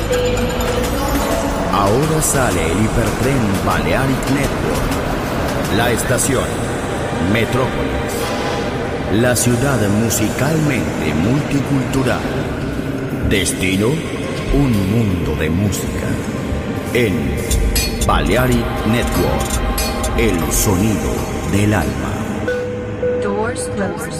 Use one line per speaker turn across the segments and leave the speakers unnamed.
Ahora sale el hipertren Balearic Network. La estación Metrópolis. La ciudad musicalmente multicultural. Destino, un mundo de música. En Balearic Network, el sonido del alma.
Doors closed.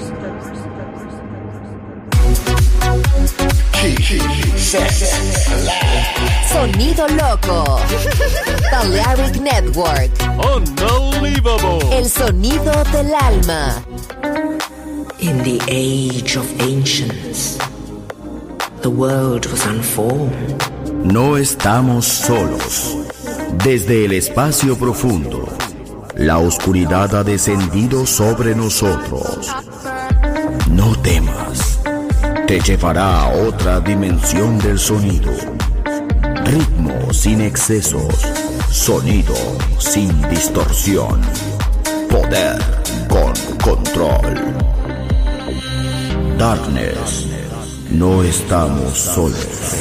Sonido loco. Balearic Network.
Unbelievable.
El sonido del alma.
In the age of ancients, the world was unformed.
No estamos solos. Desde el espacio profundo, la oscuridad ha descendido sobre nosotros. No temas. Te llevará a otra dimensión del sonido. Ritmo sin excesos. Sonido sin distorsión. Poder con control. Darkness. No estamos solos.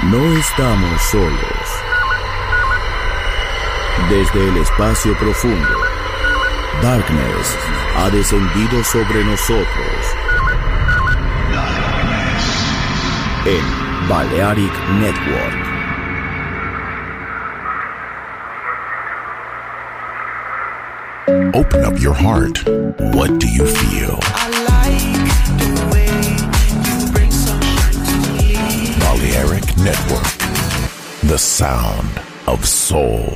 No estamos solos. Desde el espacio profundo, Darkness ha descendido sobre nosotros. En Balearic Network.
Open up your heart. What do you feel?
I like the way you bring sunshine to me.
Balearic Network. The sound of soul.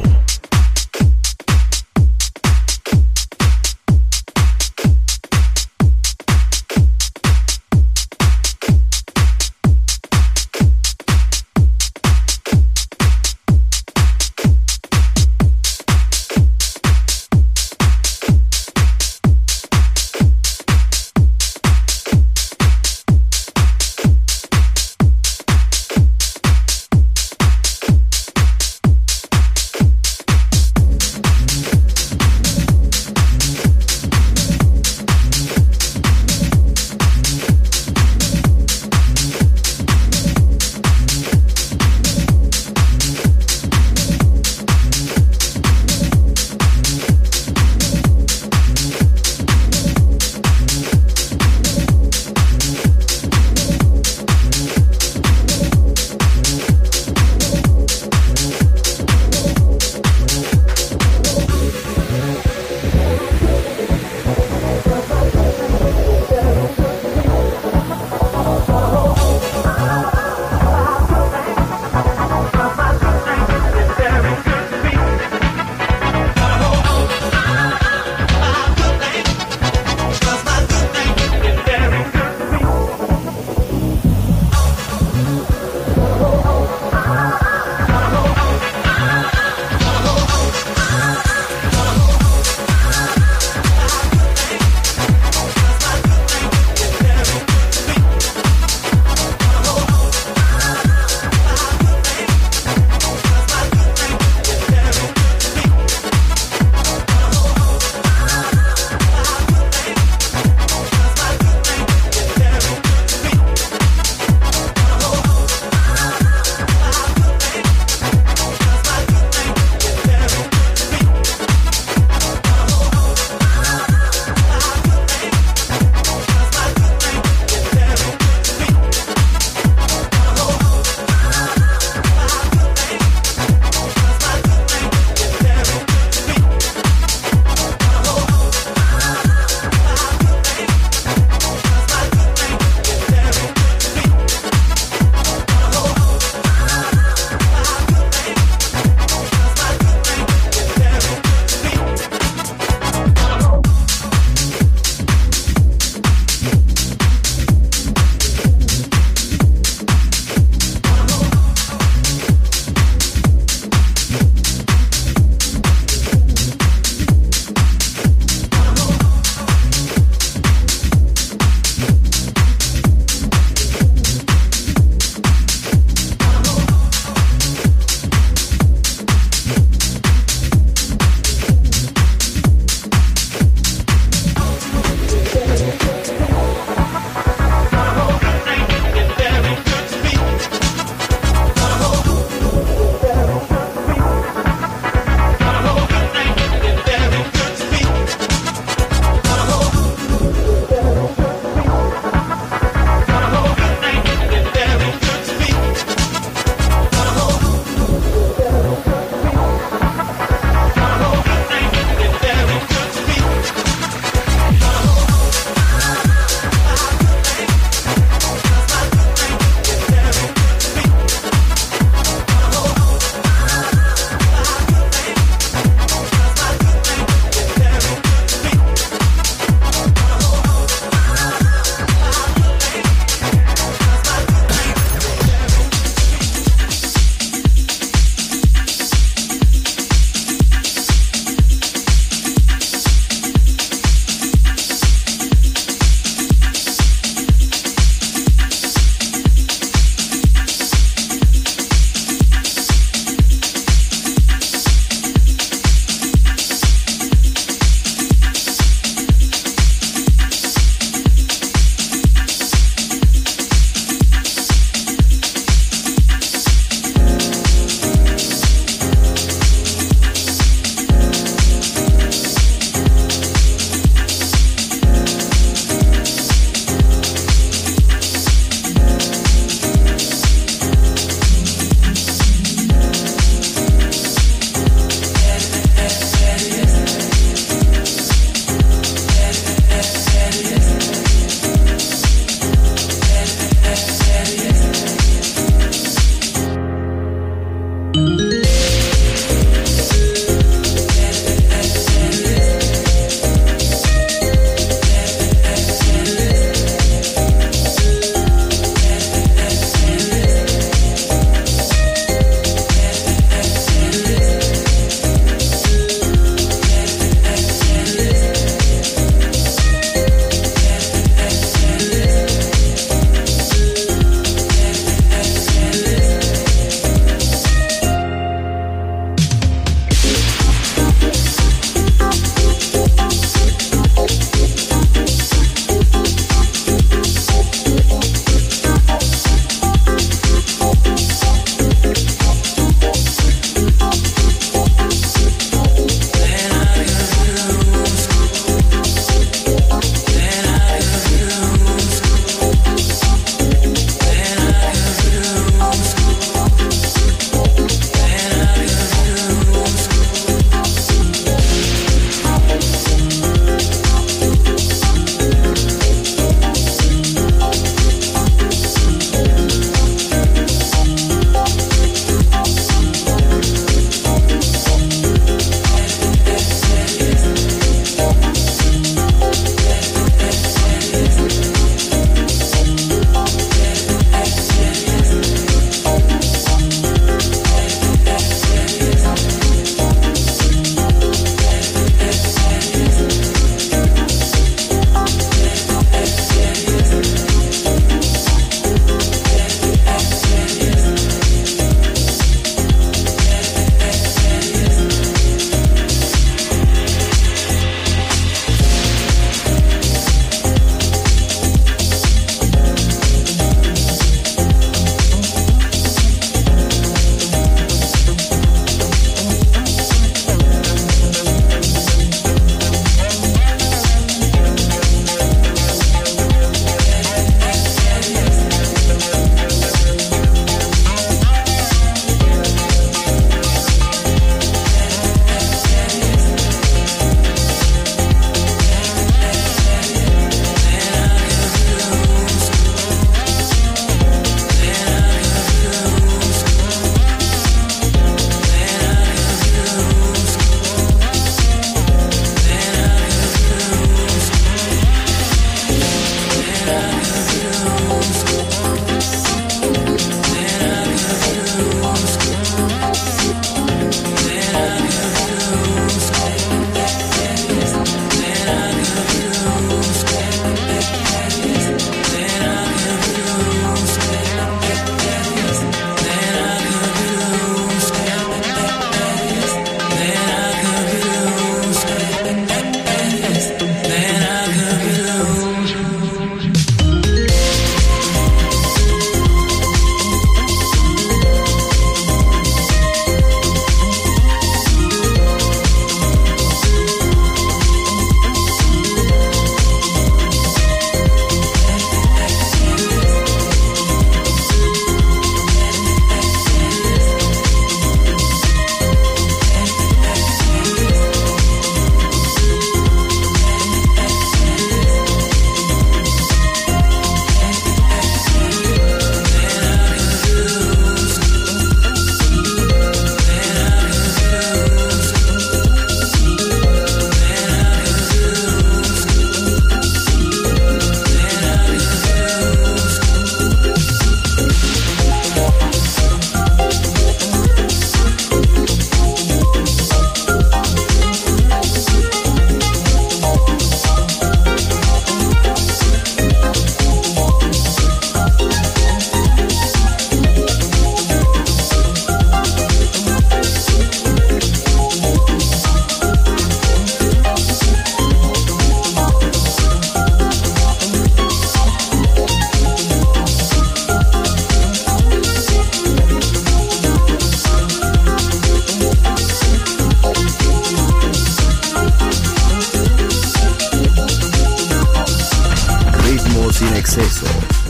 exceso,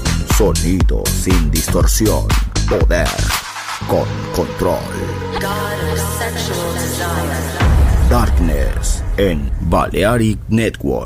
sonido sin distorsión, poder con control. Darkness en Balearic Network.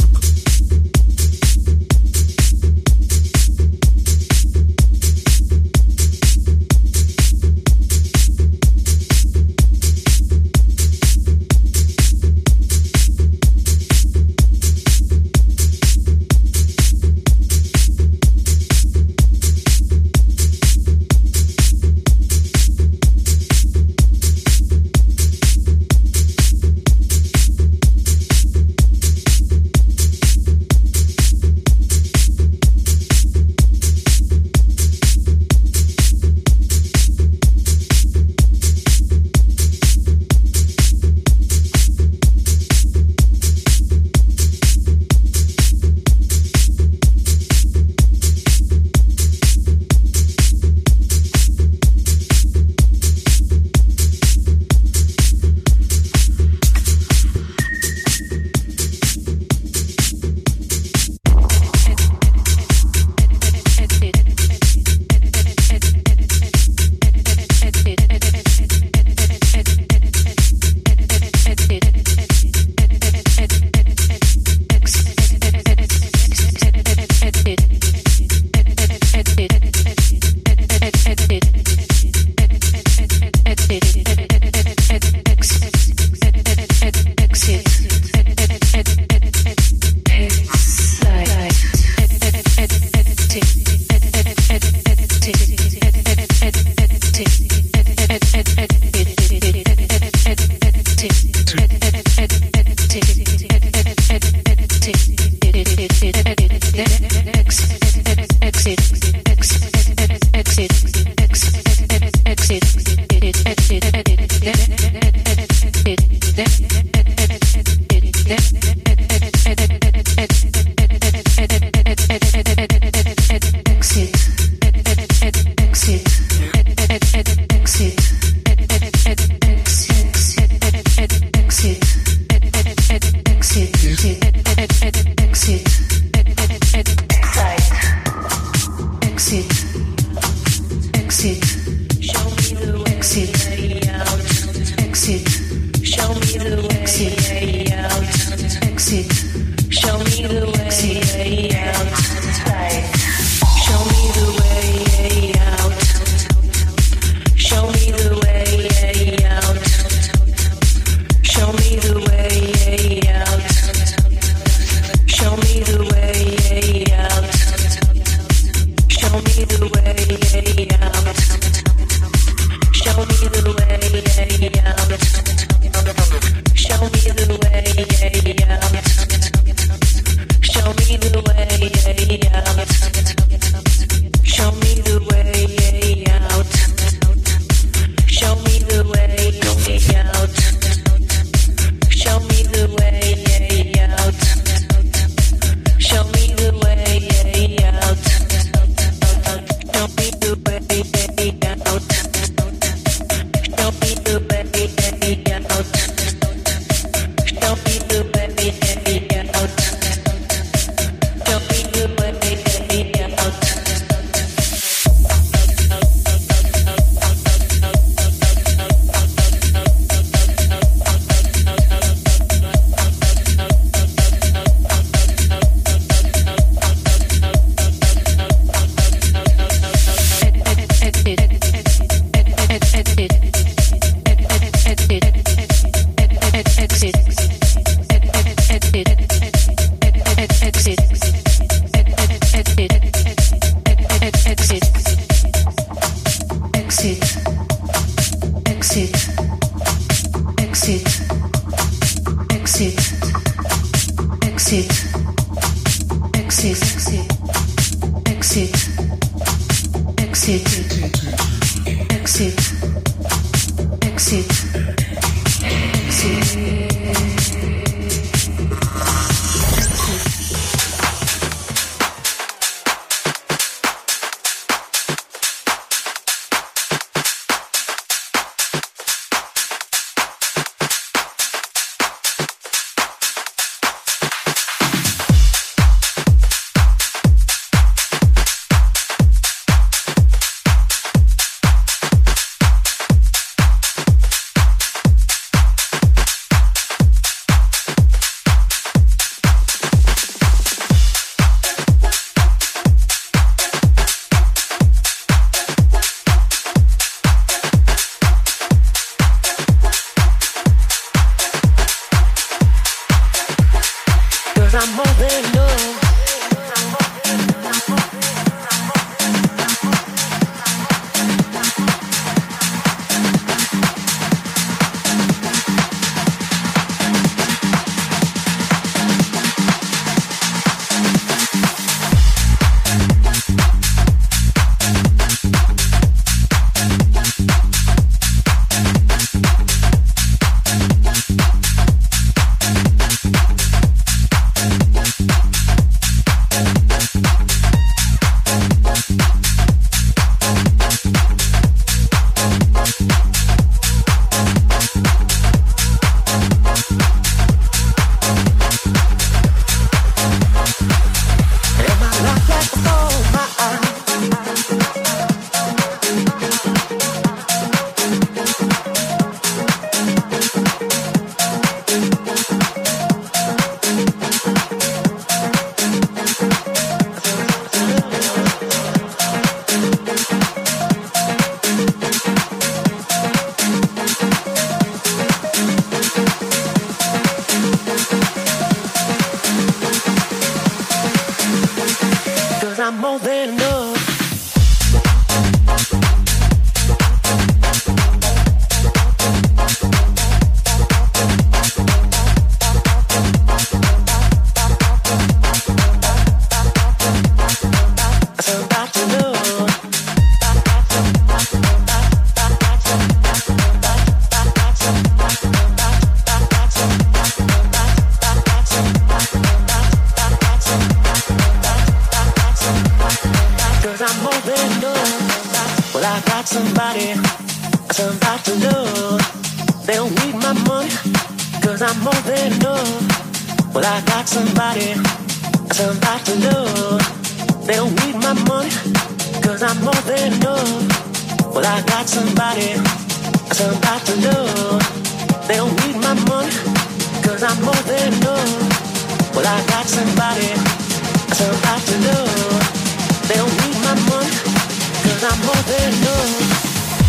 somebody to love. They don't need my money, cause I'm more than enough. Well, I got somebody to love. They don't need my money, cause I'm more than enough. Well, I got somebody to love. They don't need my money, cause I'm more than enough. Well, I got somebody to love. They don't need my money, cause I'm more than enough.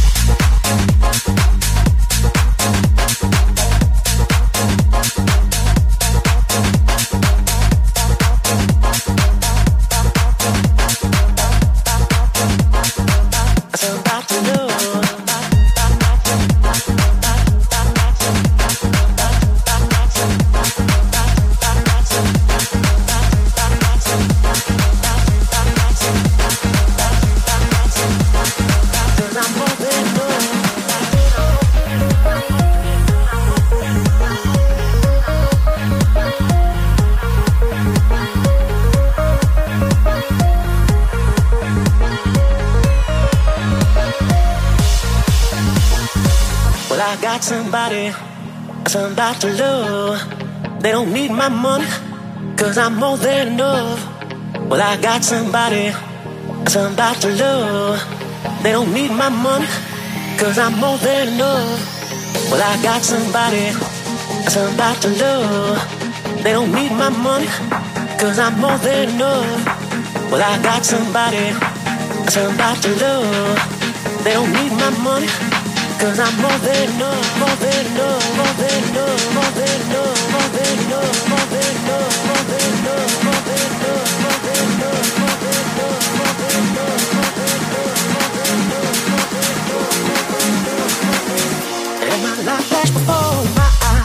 Somebody to love. They don't need my money, cause I'm more than enough. Well, I got somebody to love. They don't need my money, cause I'm more than enough. Well, I got somebody to love. They don't need my money, cause I'm more than enough. Well, I got somebody to love. They don't need my money, cause I'm more than enough, more than enough, more than enough, more than enough, more than enough, more than enough, more than enough, more than enough, more than enough, more than enough, more than enough, more than enough. And my life flashed before my eyes.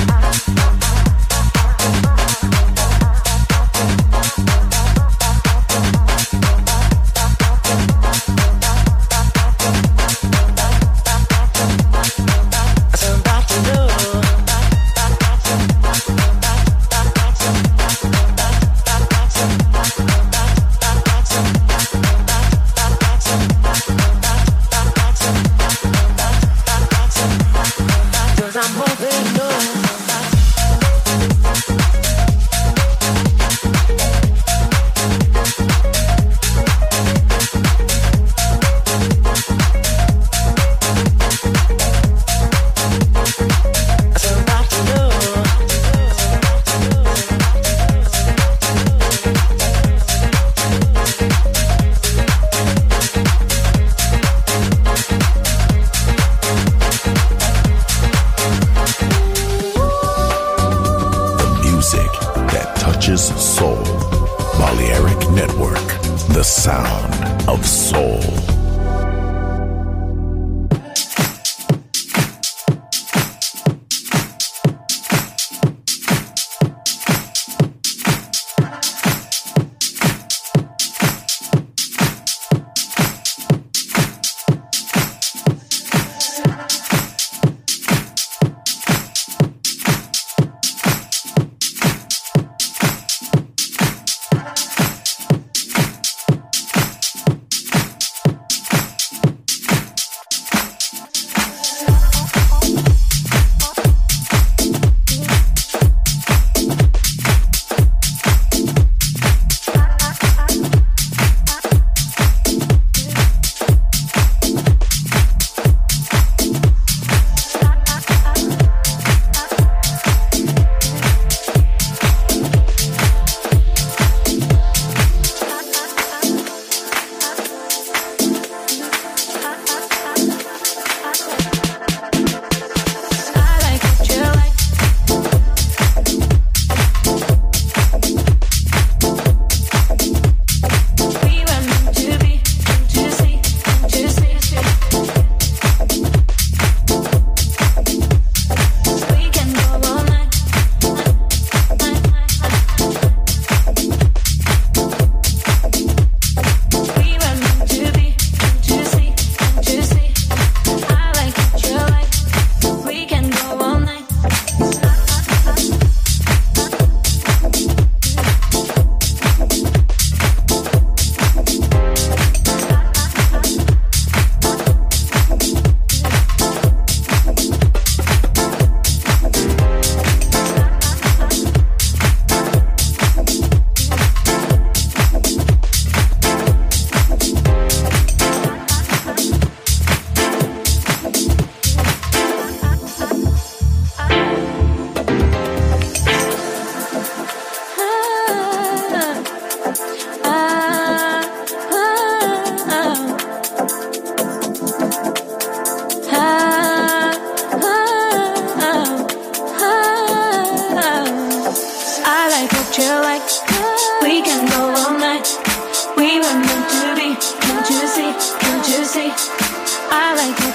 Soul. Balearic Network, the sound of soul.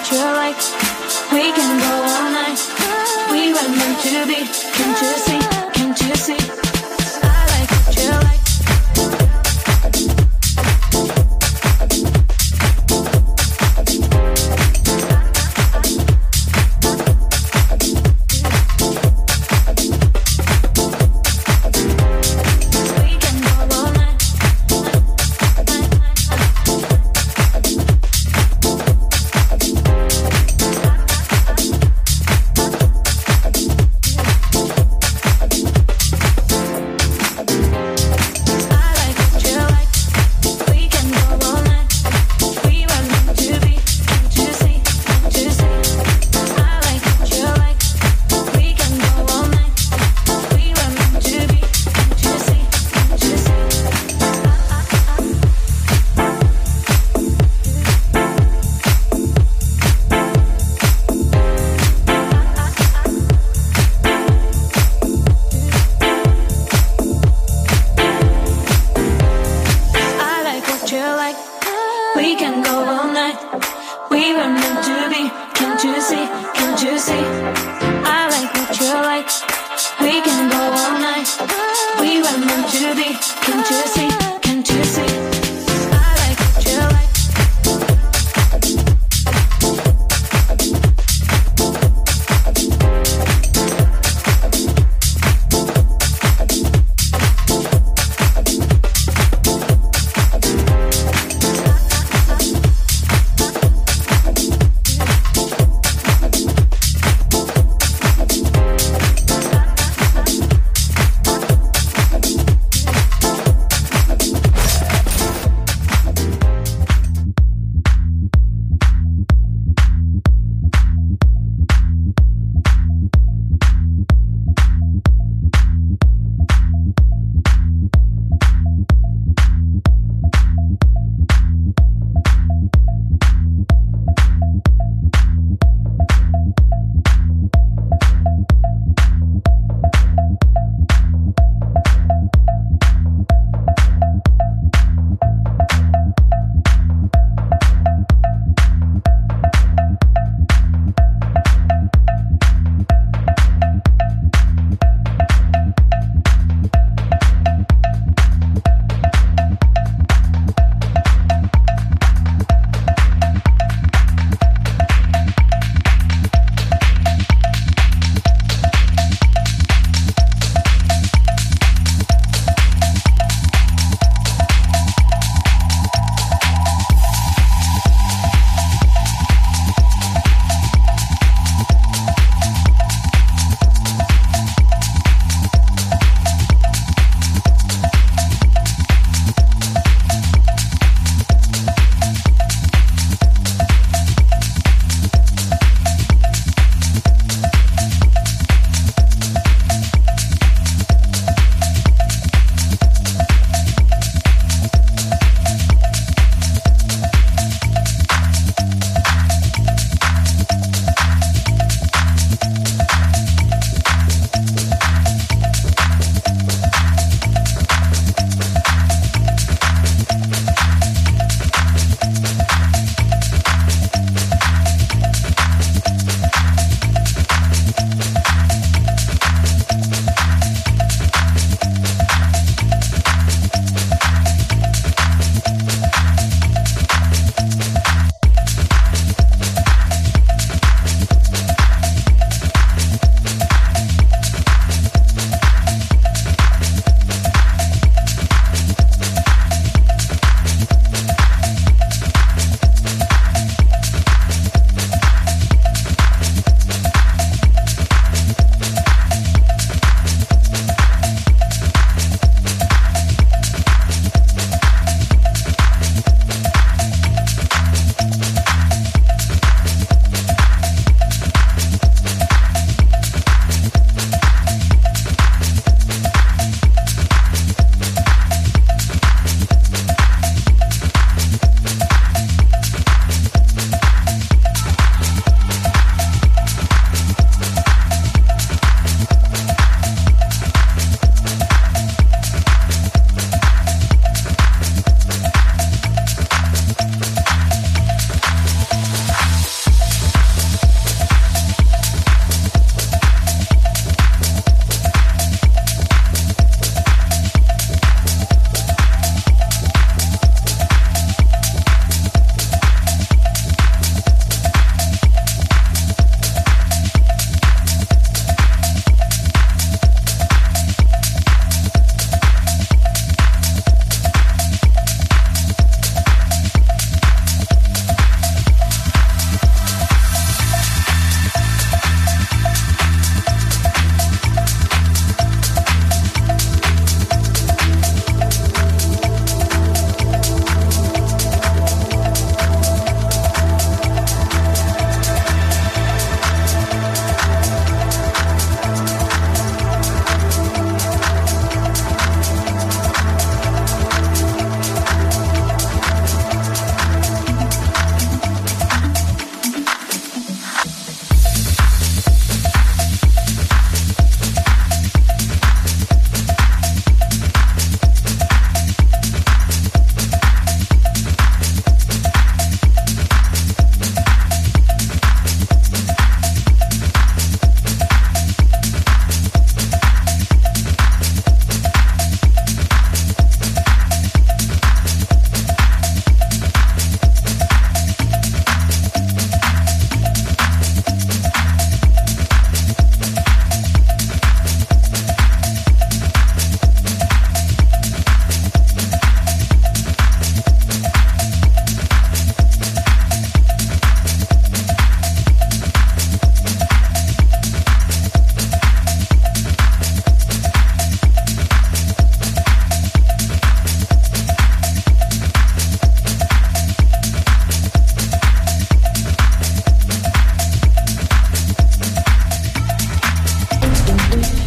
what you like. We can go all night. We were meant to be. Can't you see? Can't you see? I like what you like.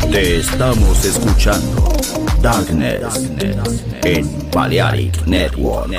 Te estamos escuchando Darkness en Balearic Network.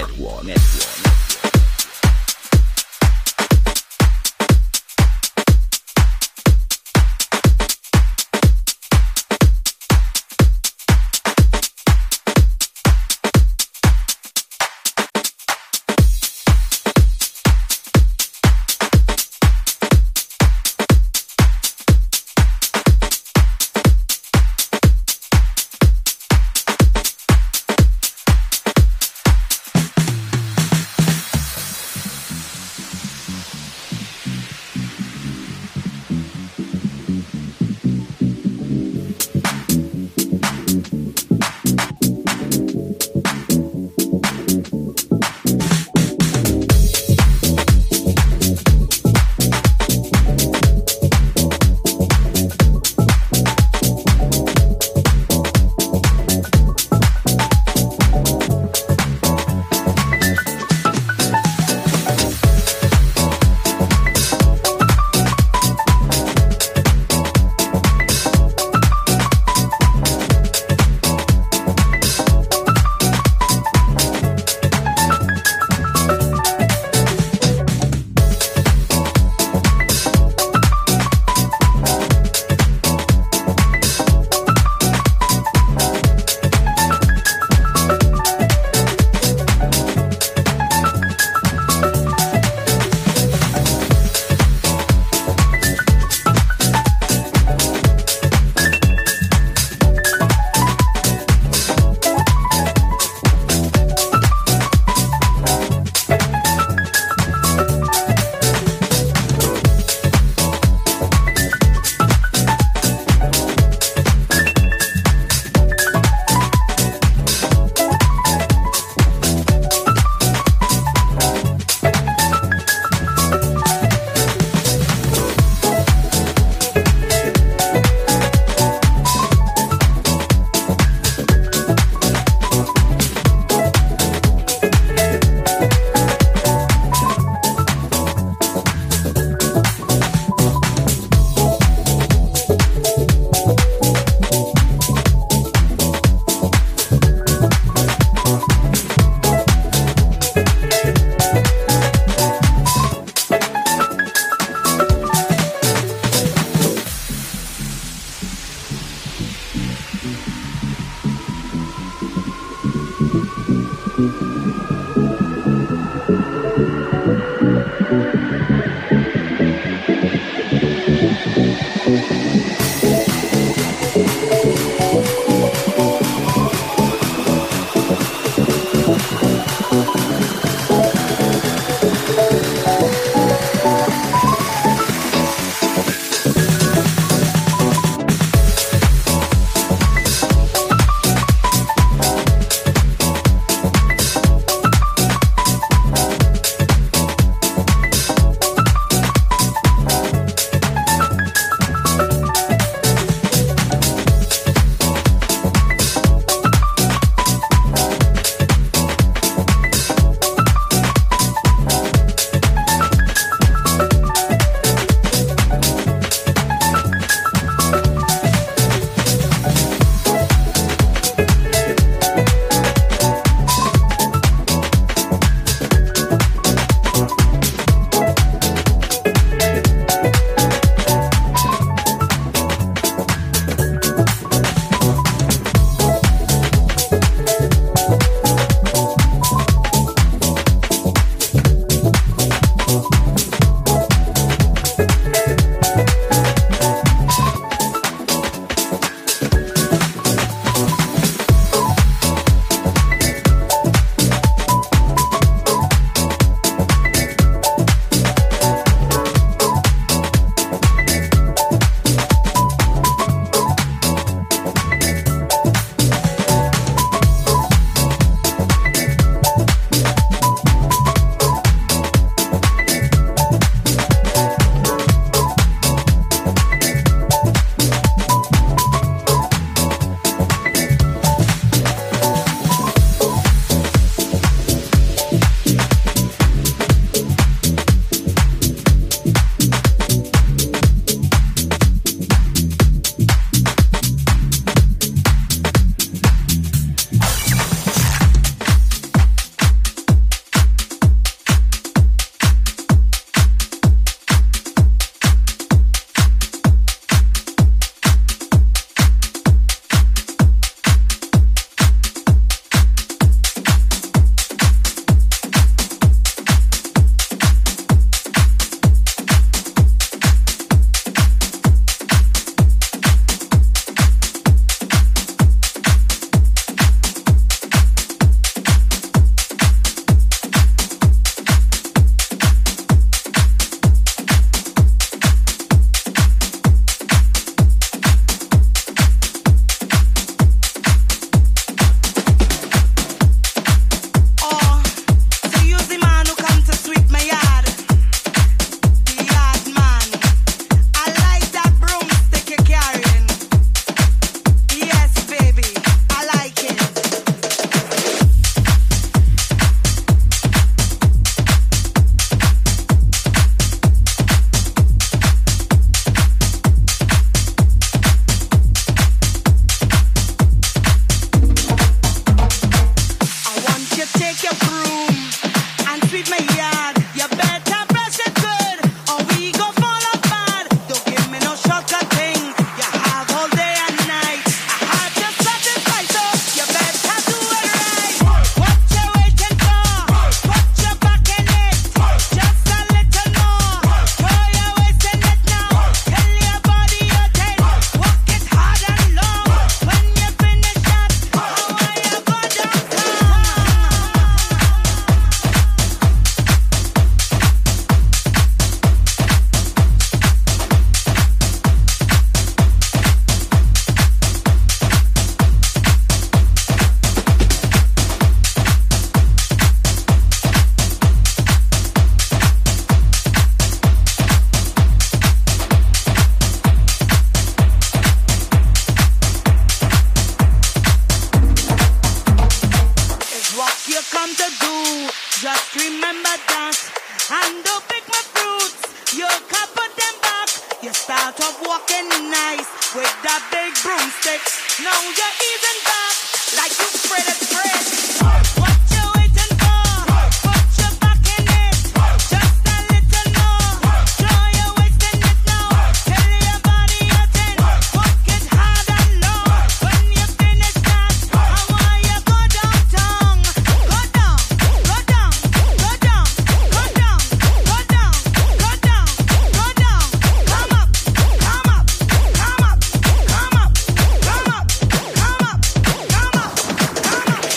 start off walking nice with that big broomstick. Now you're easing back like you spread it spread. What you waiting for? Put your back in it. Just a little more. Show you wasting it now. Tell your body you're 10. Work it hard and low. When you finish that, I want you go downtown. Go down, go down, go down, go down, go down, go down, go down. Come up, come up, come up, come up, come up, come up, come up, come up.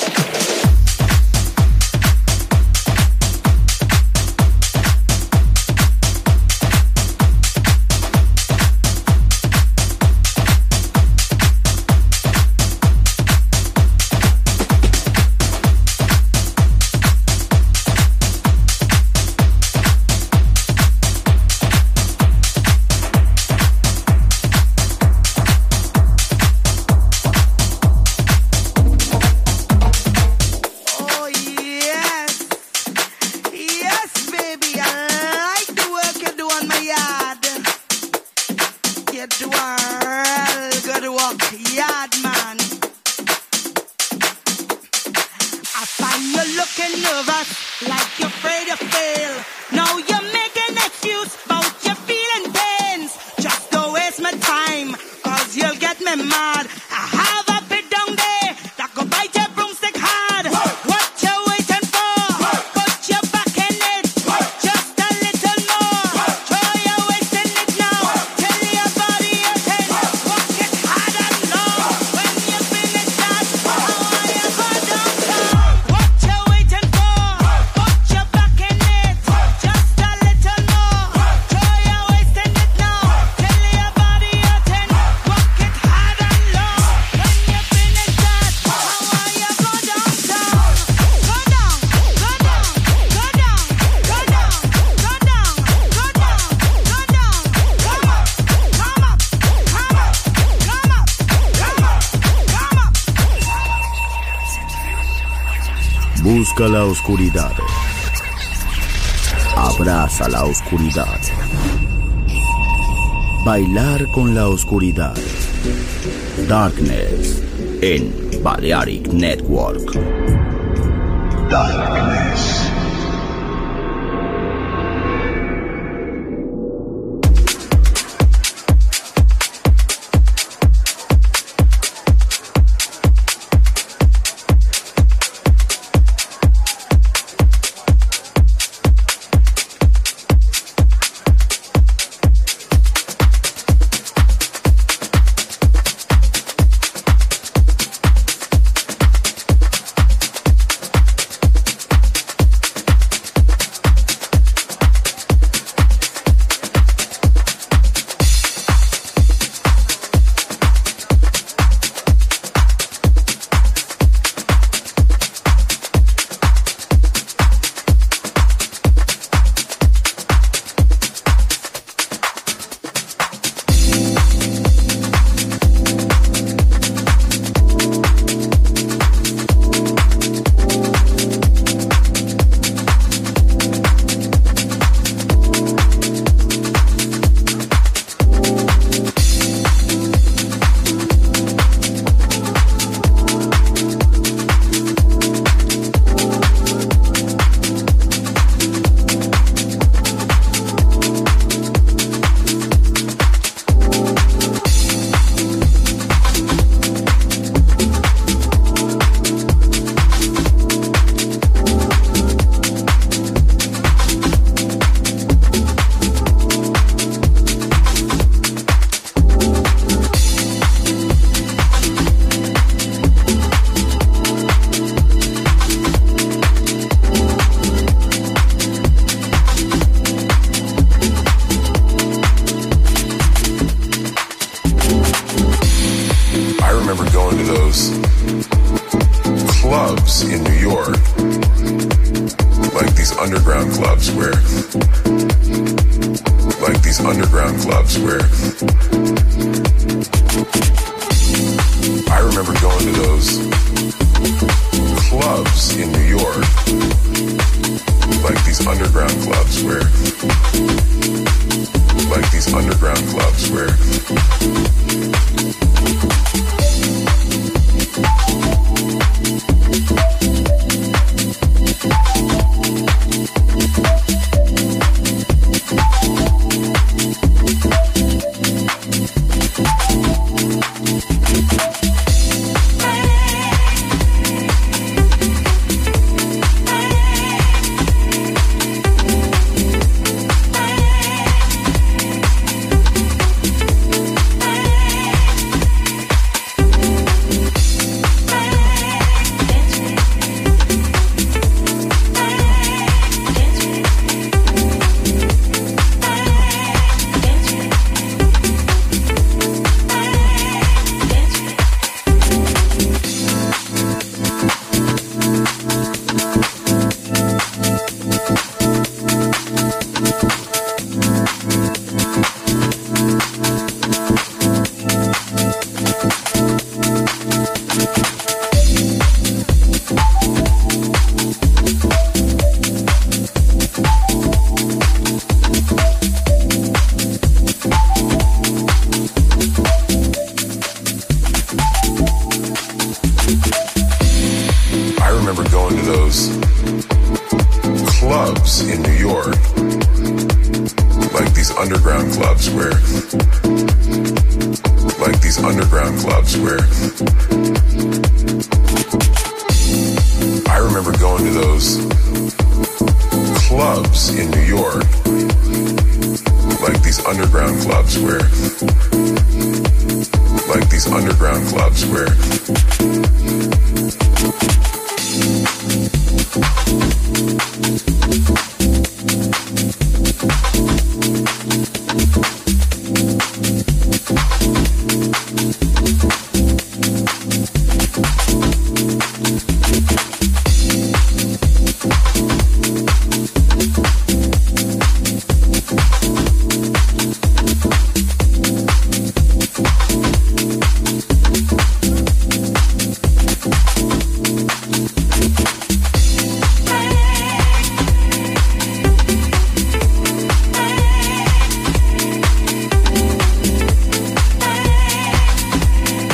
Oh yes, yes, baby, I like the work you do on my yard. You do a real good work, yard man. I find you looking nervous, like you're afraid to fail. Now you're making excuse about your feeling pains. Just don't waste my time, cause you'll get me mad. I have a bit down there that go bite your broomstick hard. What you waiting for? Put your back in it. Just a little more. Show you wasting it now. Tell your body you're 10. Work it hard and low. When you finish that, I want you go downtown. What you waiting for? Put your back in it. Just a little more. Show you wasting it now. Tell your body you're 10. Work it hard and low. When you finish that, I want you go downtown. Go down, go down, go down, go down, go down, go down, go down. Come up, come up, come up, come up, come up, come up.
Busca la oscuridad. Abraza la oscuridad. Bailar con la oscuridad. Darkness en Balearic Network. Darkness.
underground clubs where, like these underground clubs where, I remember going to those clubs in New York, like these underground clubs where, like these underground underground clubs where underground clubs where